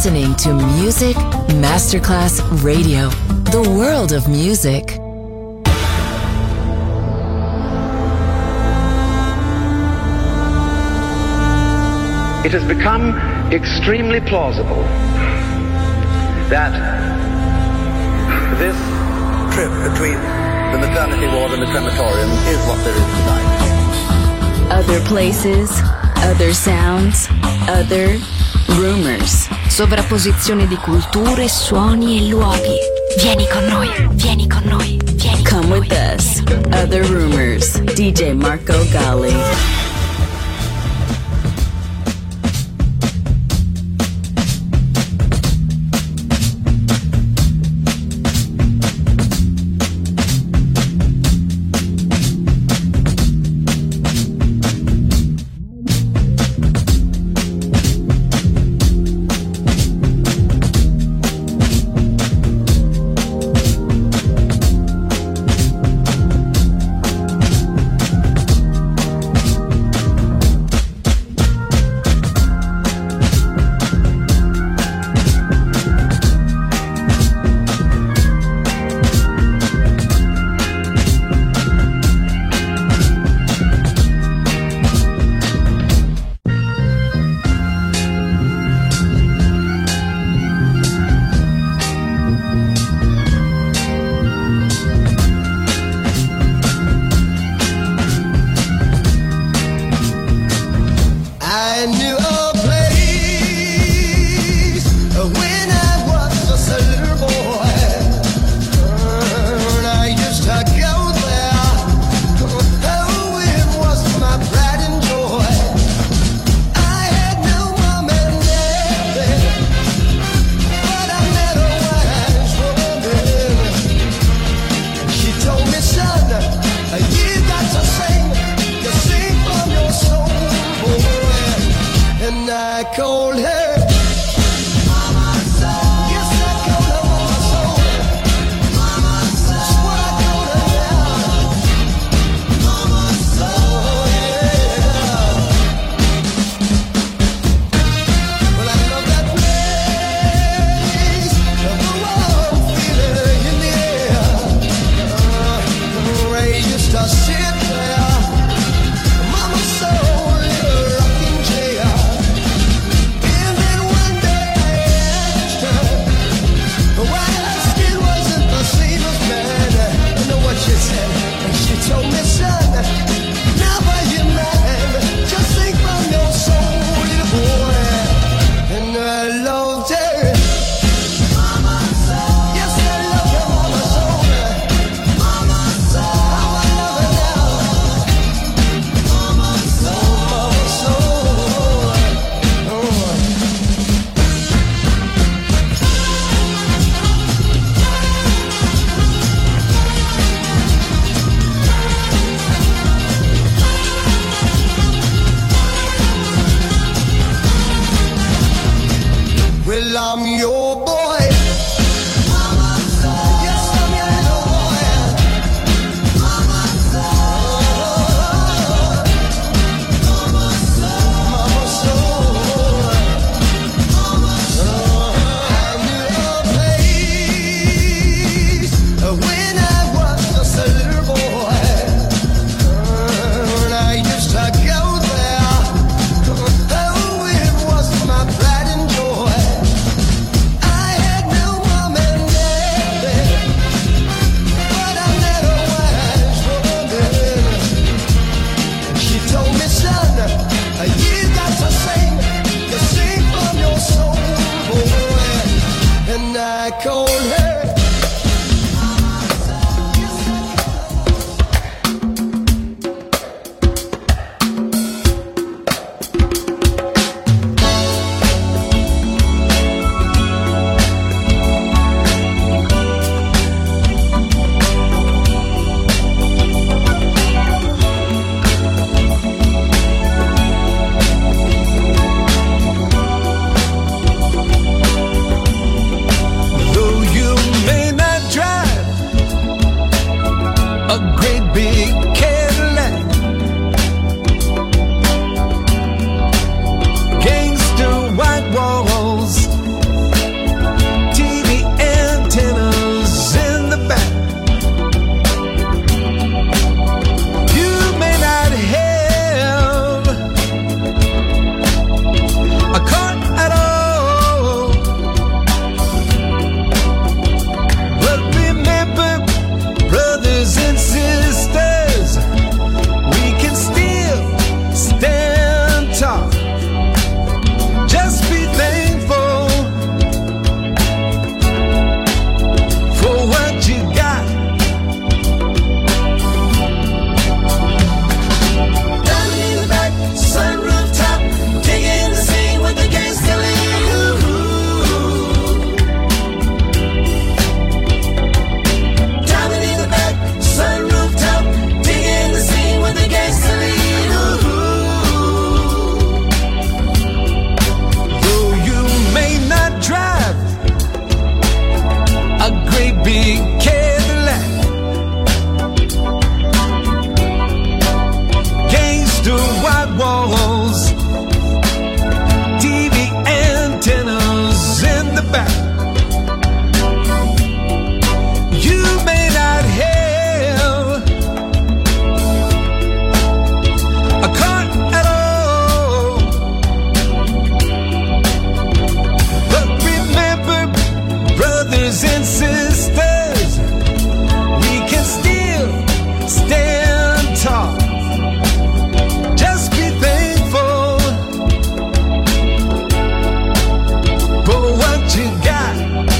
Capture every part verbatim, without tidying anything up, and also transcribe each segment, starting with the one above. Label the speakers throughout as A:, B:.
A: listening to Music Masterclass Radio, the world of music.
B: It has become extremely plausible that this trip between the maternity ward and the crematorium is what there is tonight.
A: Other places, other sounds, other rumors.
C: Sovrapposizione di culture, suoni e luoghi. Vieni con noi, vieni con noi, vieni con
A: Come
C: noi.
A: with us. Other rumors. D J Marco Gally.
D: I had back. You may not have a car at all, but remember, brothers and sisters, we can still stand tall. Just be thankful for what you got.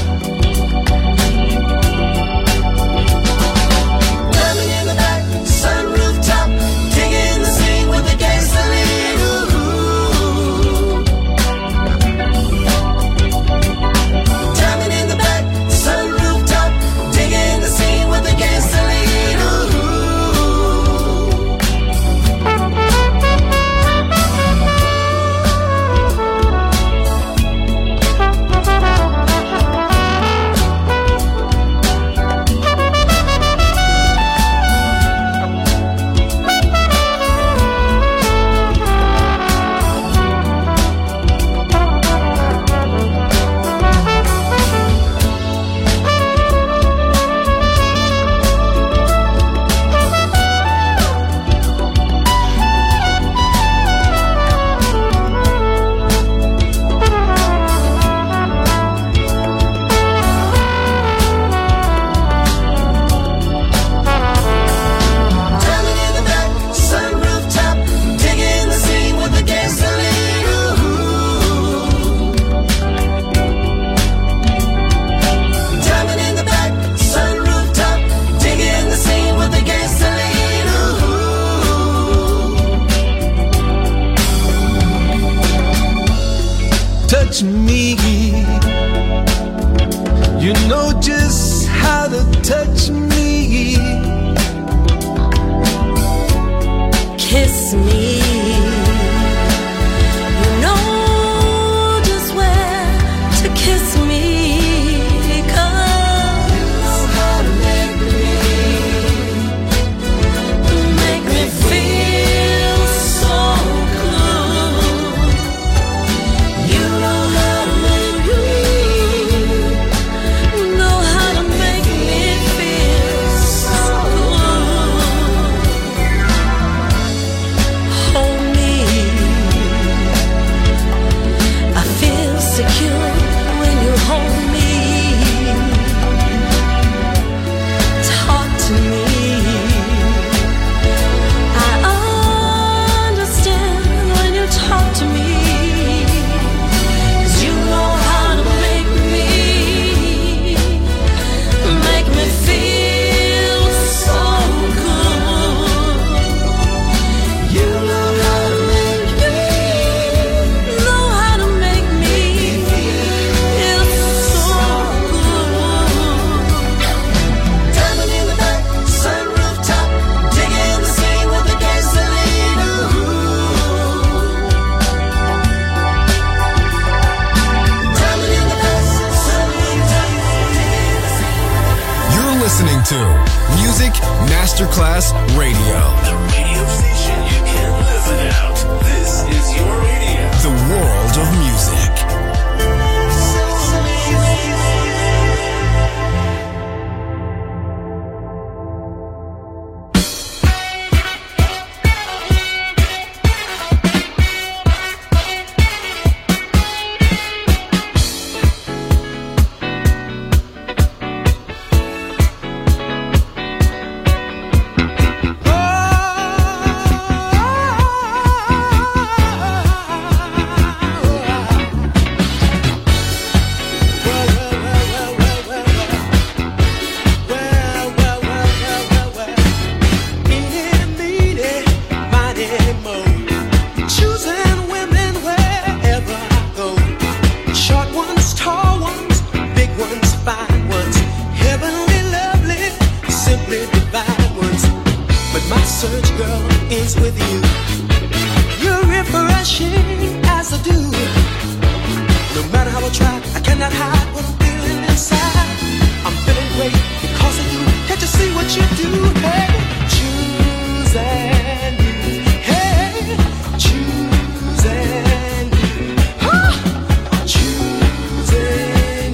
D: Coming in the back, sunroof top, digging the scene with the gasoline. Ooh. Coming in the back, sunroof top, digging the scene with the gasoline. Ooh. Coming in the back, sunroof top, digging the scene with the gasoline. Ooh. Coming in the back, sunroof top, digging the scene with the gasoline. Ooh. Touch me, you know just how to touch me.
C: Kiss me. You know just where to kiss me. 'Cause you know how to make me, make me feel so good. You know how to make me, know how to make me feel so good. Hold me, I feel secure when you hold me. Talk to me, I understand when you talk to me. 'Cause you know how to make me, make me feel so good. You know how to make me, know how to make me feel so good. Coming in the back, sunroof top, digging the scene with the gasoline. Ooh. Coming in the back, sunroof top, digging the scene.
E: You're listening to Music Masterclass Radio.
F: The radio station you can't live without. This is your radio.
E: The world of music.
G: Choosing you, hey, choosing you.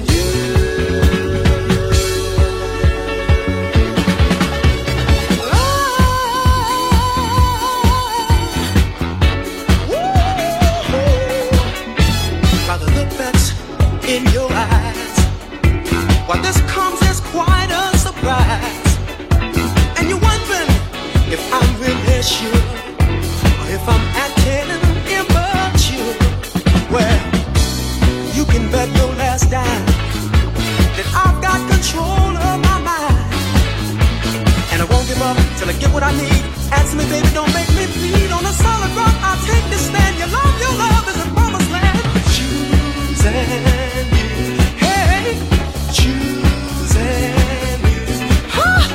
D: till I get what I need. Answer me, baby, don't make me bleed. On a solid rock, I'll take this stand. Your love, your love is a promised land. Choosing you, hey, choosing you, huh?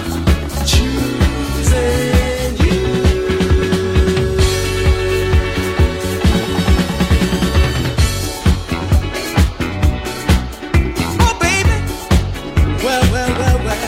D: Choosing you. Oh, baby, well, well, well, well.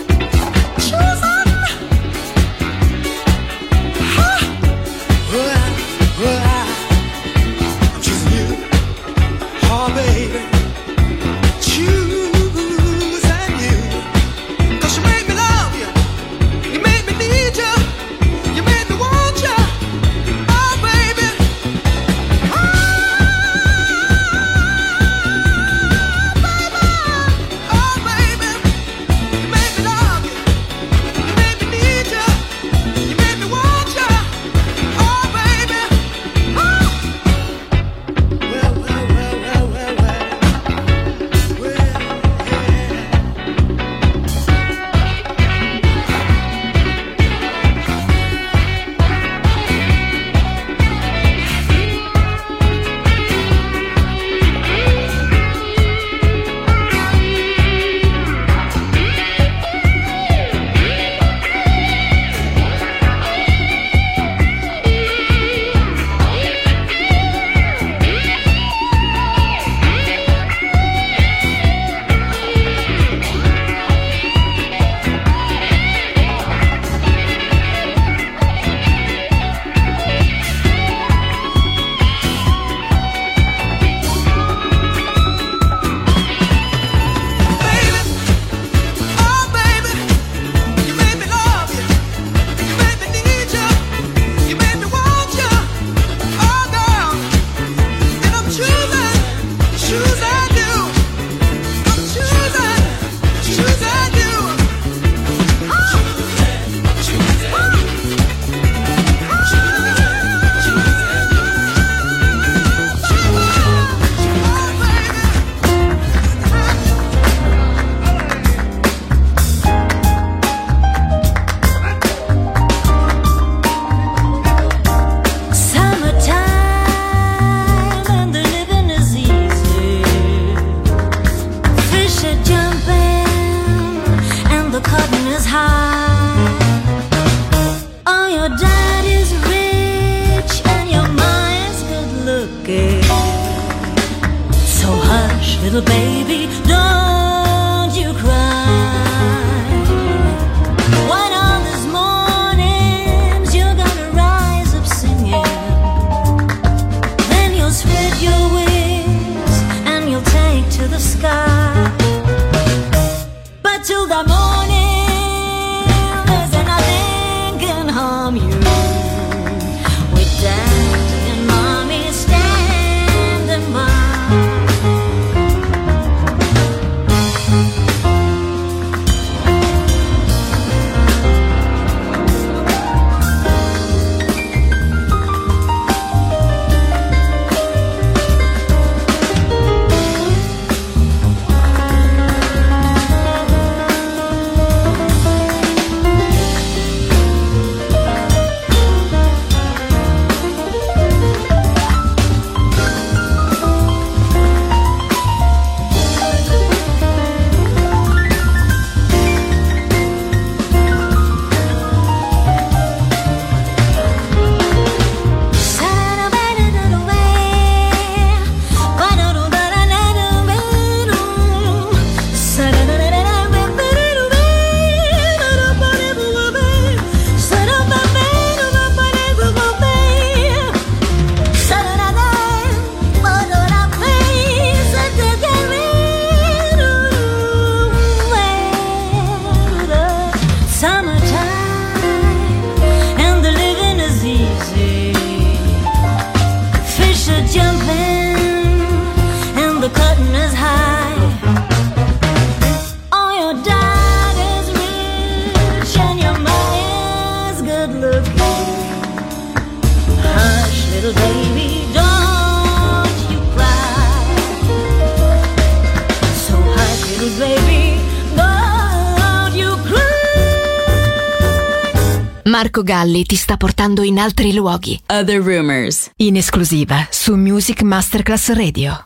G: Little baby, don't you cry. One of these mornings you're gonna rise up singing. Then you'll spread your wings and you'll take to the sky. But till the morning there's nothing can harm you. With Daddy and Mommy standing by.
C: Marco Galli ti sta portando in altri luoghi.
A: Other Rumors.
C: In esclusiva su Music Masterclass Radio.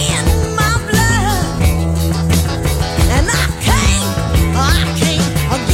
G: I can't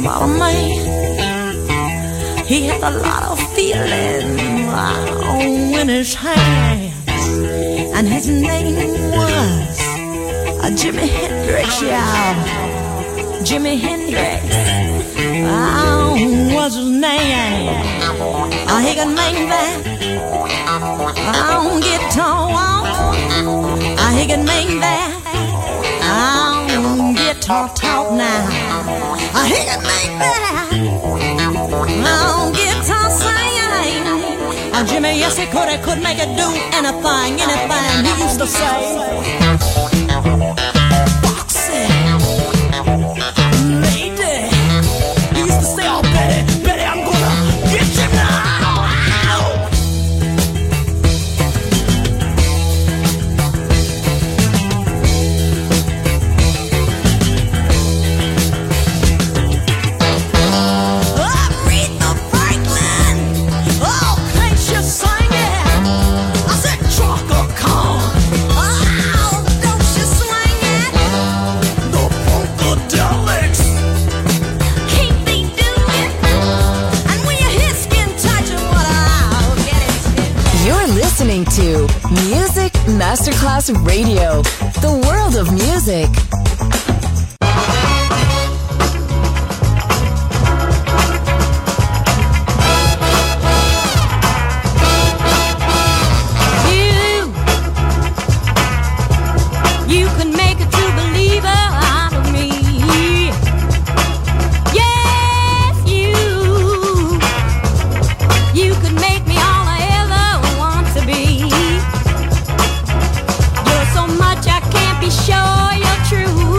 G: about a man. He had a lot of feeling in his hands, and his name was uh, Jimi Hendrix, y'all. Jimi Hendrix uh, was his name. Uh, he could make that uh, guitar walk. Uh, he could make that uh, guitar talk now. Uh, he could make that uh, guitar sing. Uh, Jimmy, yes he could, he could make it do anything, anything. He used to say, Foxy, lady. He used to say, oh Betty, Betty, I'm gonna get you now.
A: Listening to Music Masterclass Radio, the world of music.
G: You, you can make a true believer out of me. Yes, you, you could make me all I ever want to be. You're so much I can't be sure you're true.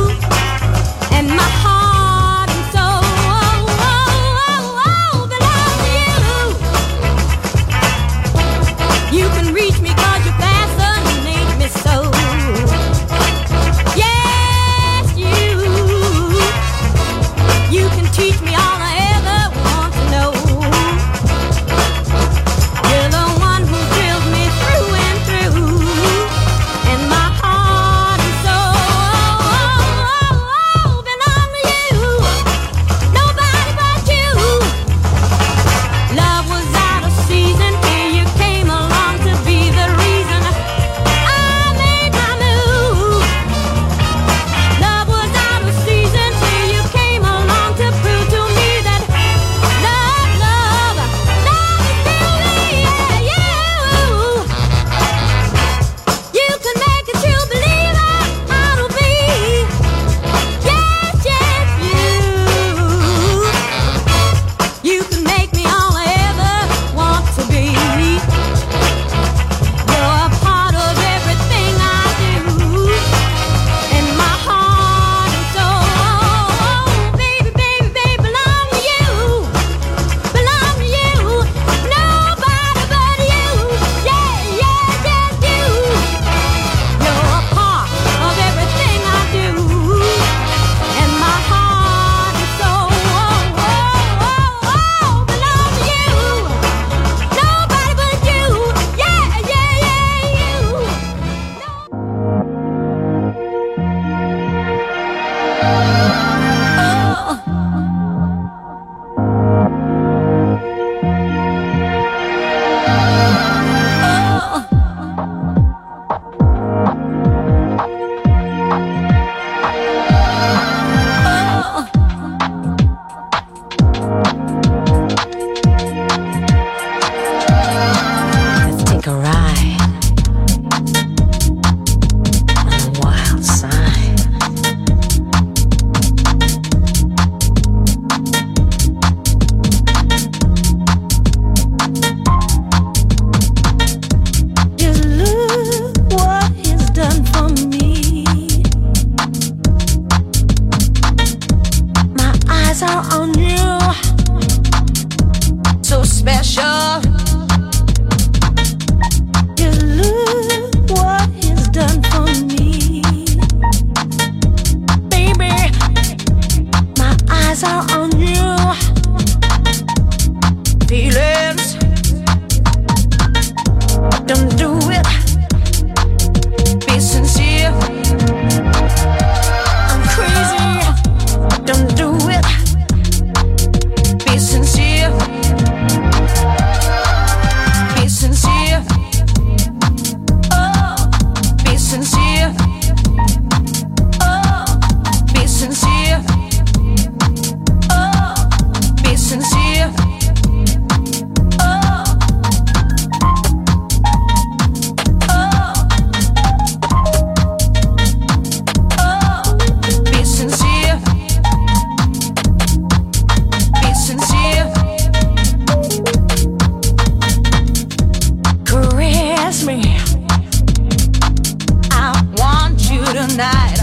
H: tonight.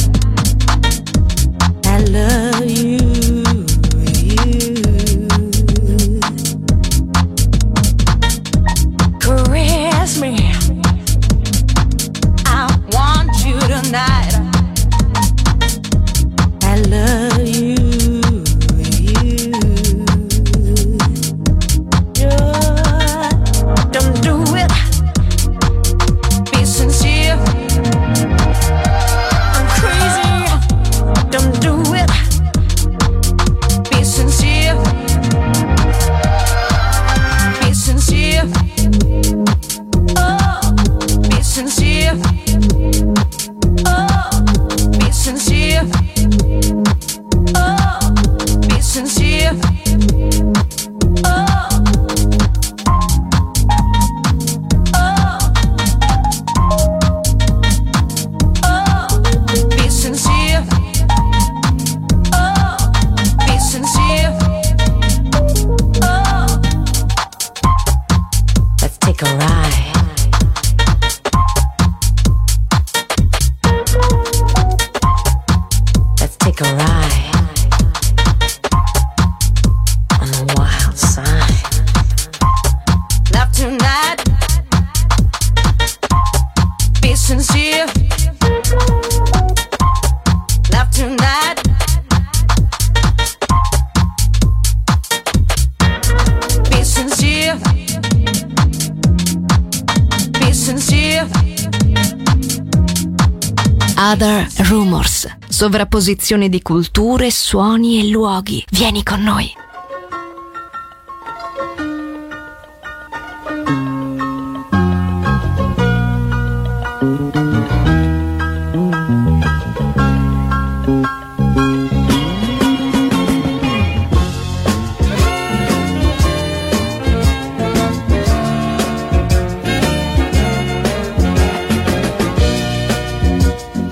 H: I love you.
C: Other Rumors, sovrapposizione di culture, suoni e luoghi. Vieni con noi.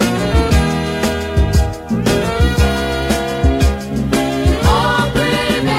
H: Oh, baby.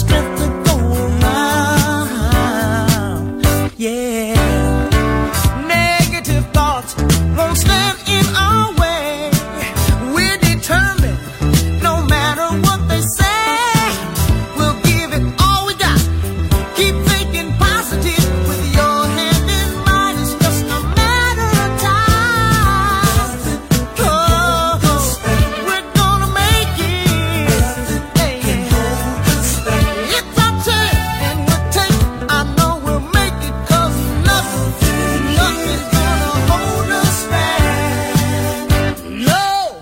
D: strength to go around. Yeah. Negative thoughts won't stand in our way. We're determined, no matter what they say, we'll give it all we got. Keep thinking positive with your hand in mine. It's just a matter of time. Oh, we're gonna make it. Hey, it's our chance and we'll take. I know we'll make it, 'cause nothing, nothing's gonna hold us back. No.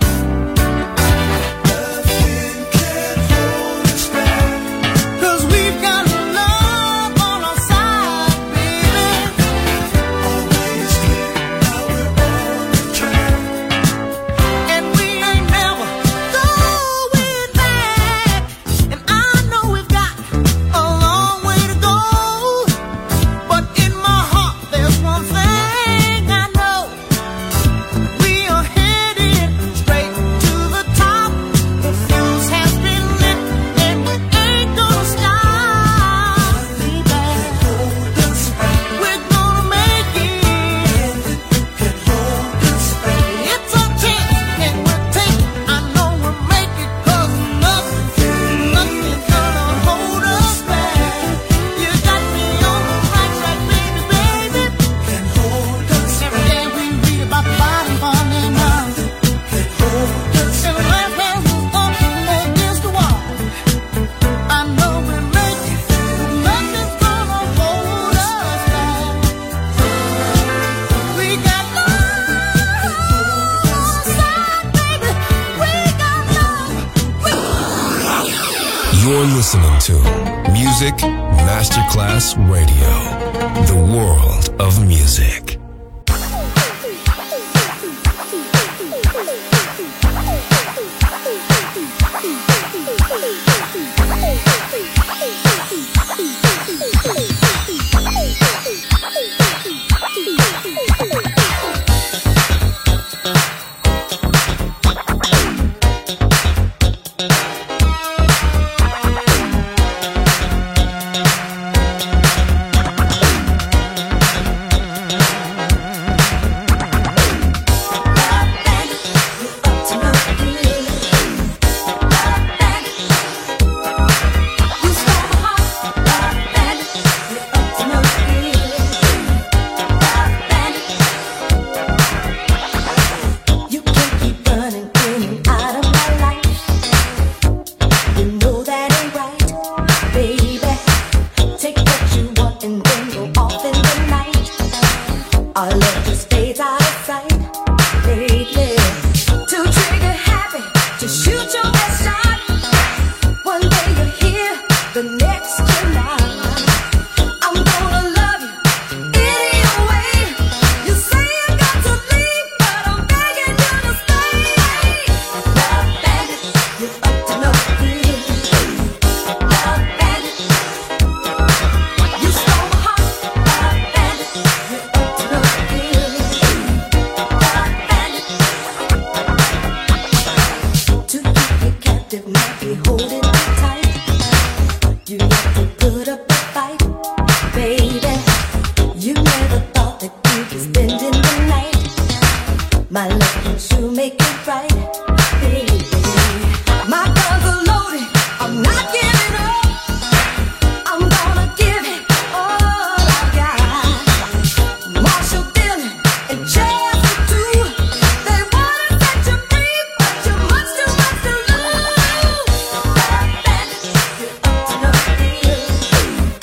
D: Cause we've got love on our side, baby. Always clear, now we're on the track. And we ain't never going back. And I know we've got a long way to go. But in my heart there's one thing I know. We are headed straight to the top. The fuse has been lit and we ain't gonna stop. We're gonna make it. It's our chance and we'll take. I know we'll make it, 'cause nothing, nothing's gonna hold us back. You got me on the right track, baby, baby. Every day we read about the bottom falling out. And the last man who's up against the wall. I know we'll make it. Nothing's gonna hold us back. We got love on our side, baby. We got love.
E: You're listening to Music Masterclass Radio, the world of music.
G: You can't keep running in and out of my life. You know that ain't right, baby. Take what you want and then go off in the night. Our love just fades out of sight lately. Too trigger happy to shoot your best shot. One day you're here, the next you're not. I'm gonna love you any way. You say you got to leave, but I'm begging you to stay. Love bandit, you're up to no good. Love bandit, you stole my heart. Love bandit, you're up to no good. Love bandit, to keep you captive, not be holding you tight. You have to put up a fight, baby. You never thought that you'd be spending the night. My love can sure make it right, baby. My guns are loaded, I'm not giving up. I'm gonna give it all I got. Marshall Dillon and Chester too. They wanna set you free, but you're much too much to lose. Love bandit, you're up to no good.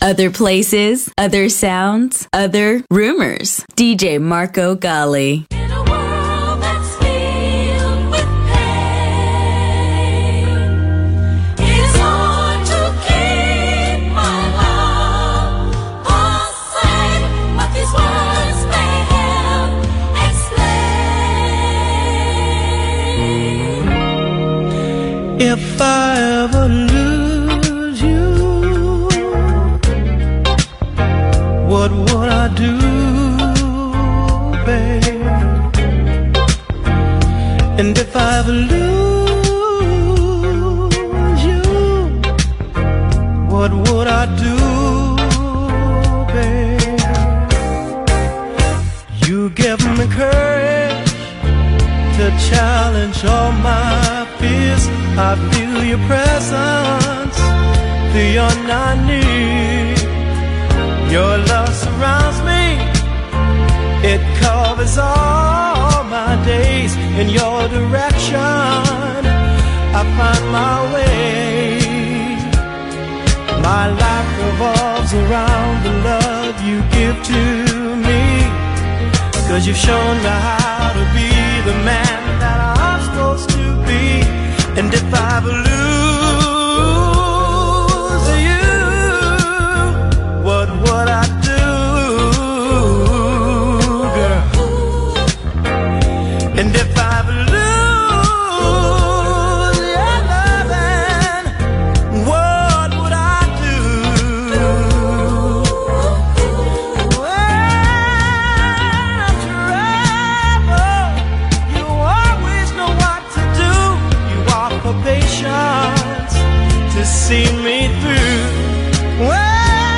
A: Other places, other sounds, other rumors. D J Marco Gally.
G: In a world that's filled with pain, it's hard to keep my love aside, but these words may help explain.
D: If I ever lose you, what would I do, babe? And if I ever lose you, what would I do, babe? You give me courage to challenge all my fears. I feel your presence beyond I need. Your love surrounds me, it covers all my days. In your direction, I find my way. My life revolves around the love you give to me, 'cause you've shown me how to be the man that I'm supposed to be. And if I lose you, what would I do, girl? And if I lose your loving, what would I do? When I'm troubled, you always know what to do. You offer patience to see me through. When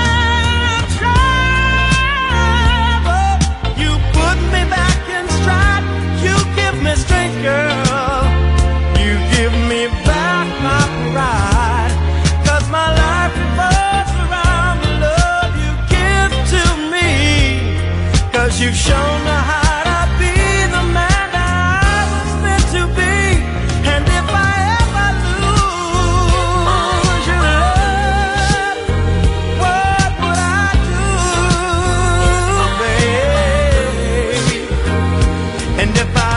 D: strength, girl, you give me back my pride, 'cause my life revolves around the love you give to me, 'cause you've shown me how to be the man that I was meant to be. And if I ever lose your love, what would I do, babe? And if I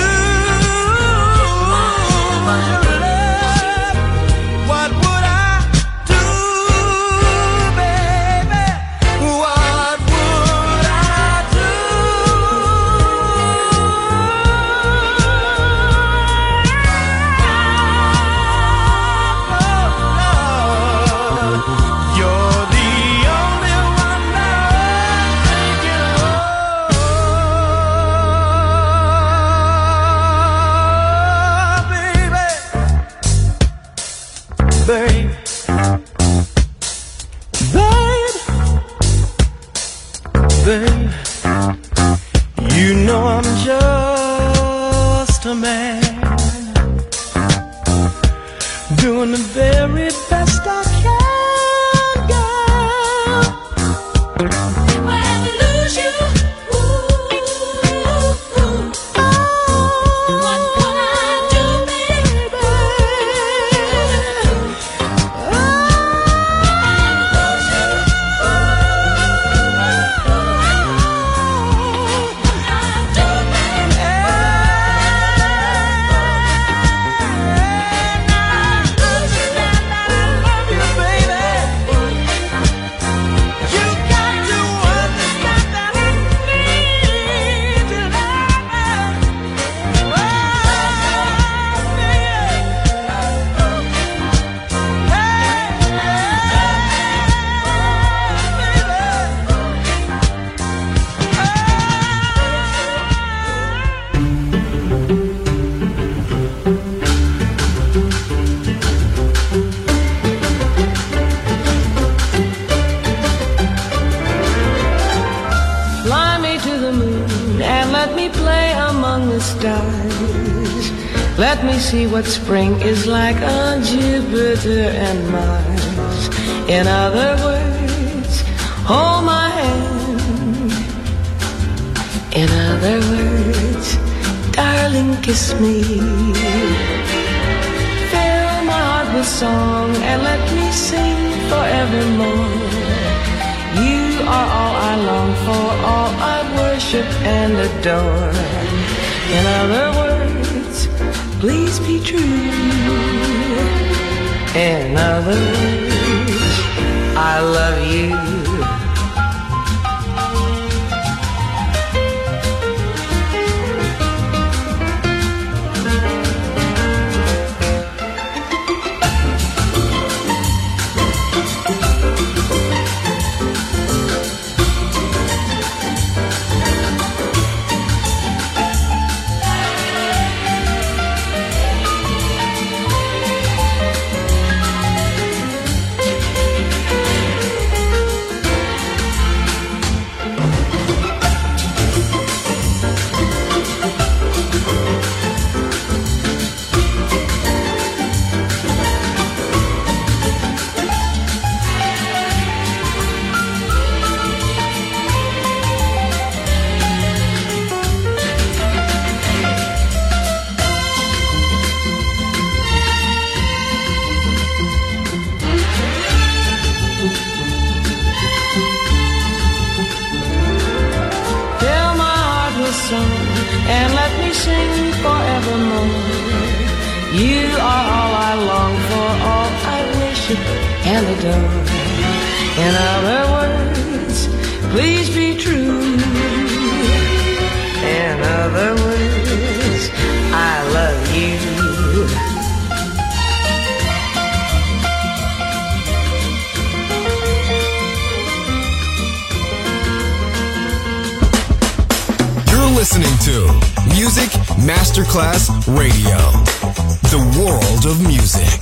D: babe, babe, babe, you know I'm just a man, doing the very best I can, girl.
G: If I ever lose you, ooh, ooh, oh, what would I do, baby?
H: Let me see what spring is like on Jupiter and Mars. In other words, hold my hand. In other words, darling, kiss me. Fill my heart with song and let me sing forevermore. are all I long for, all I worship and adore. In other words, please be true. In other words, I love you. And let me sing forevermore. You are all I long for, all I worship and adore. In other words, please be true. In other words, I love you.
E: Listening to Music Masterclass Radio, the world of music.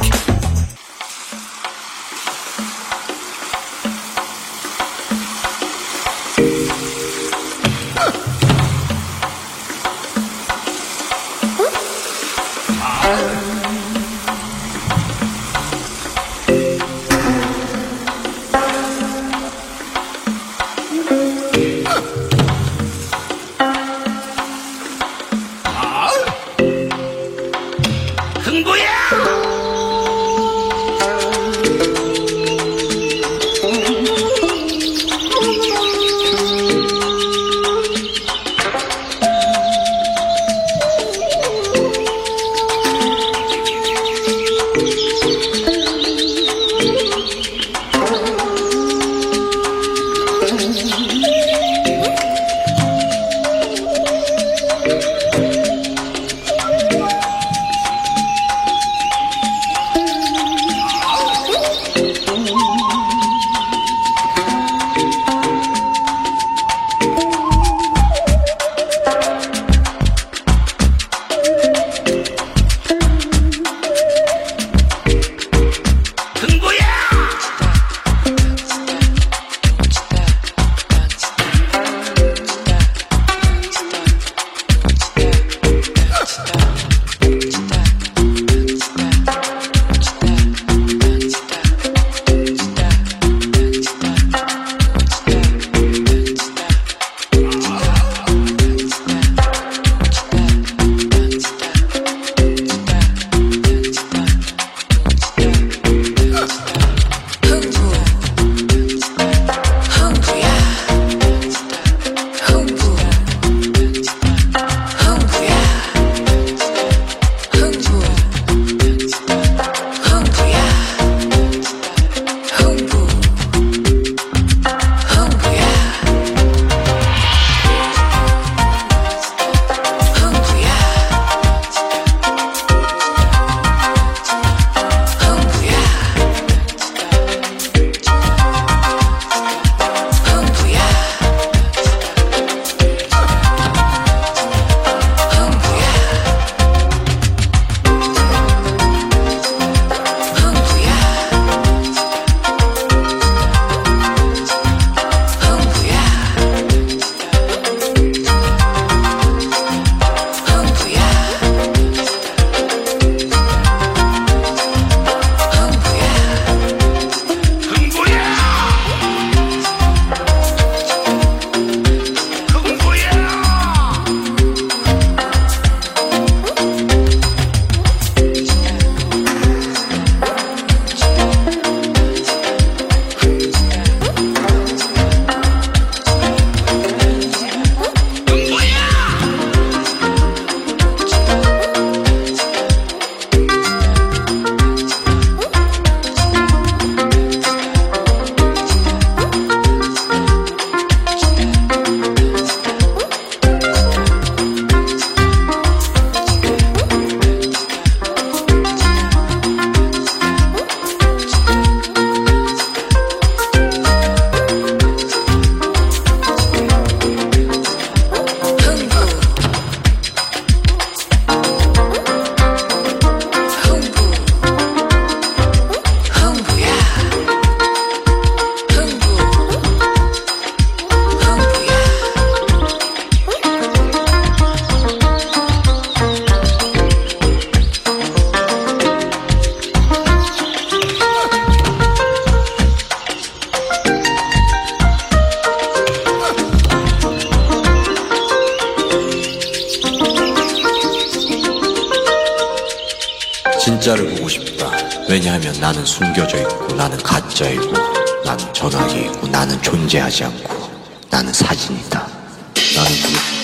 I: 여자를 보고 싶다. 왜냐하면 나는 숨겨져 있고 나는 가짜이고 나는 전화기에 있고 나는 존재하지 않고 나는 사진이다. 나는 그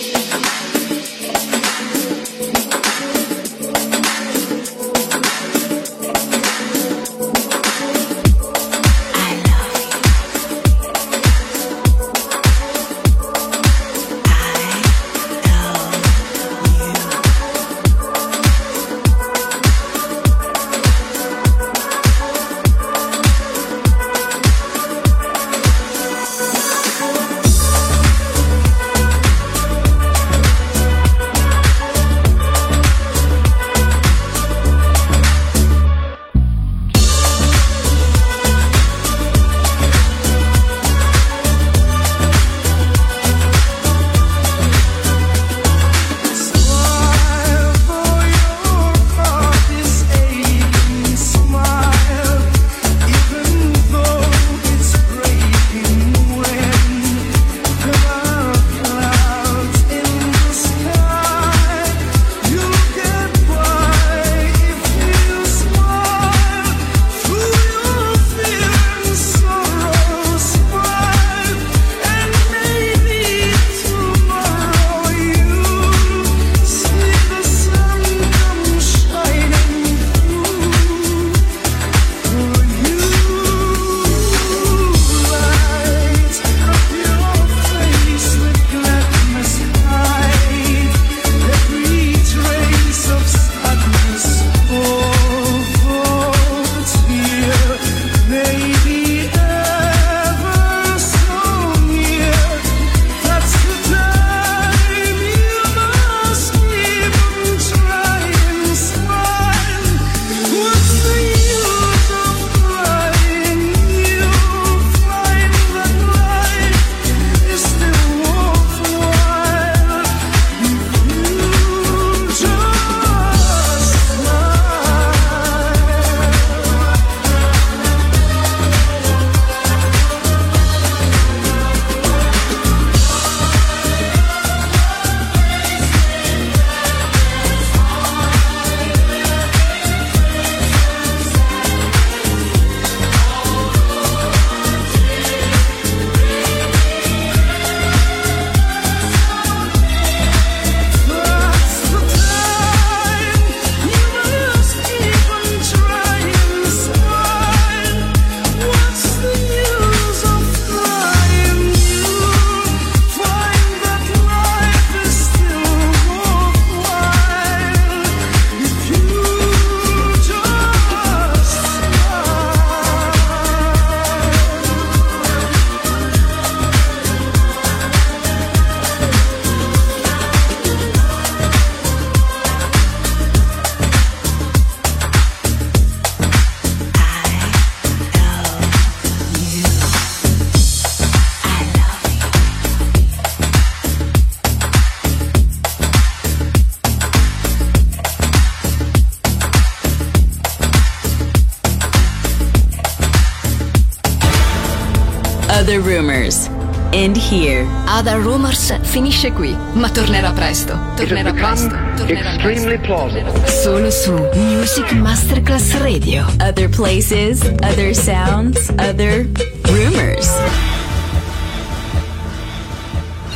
A: Other Rumors. End here. Other Rumors finisce qui, ma tornerà presto. Tornerà presto. Tornerà
J: extremely plausible.
A: Solo su Music Masterclass Radio. Other places, other sounds, other rumors.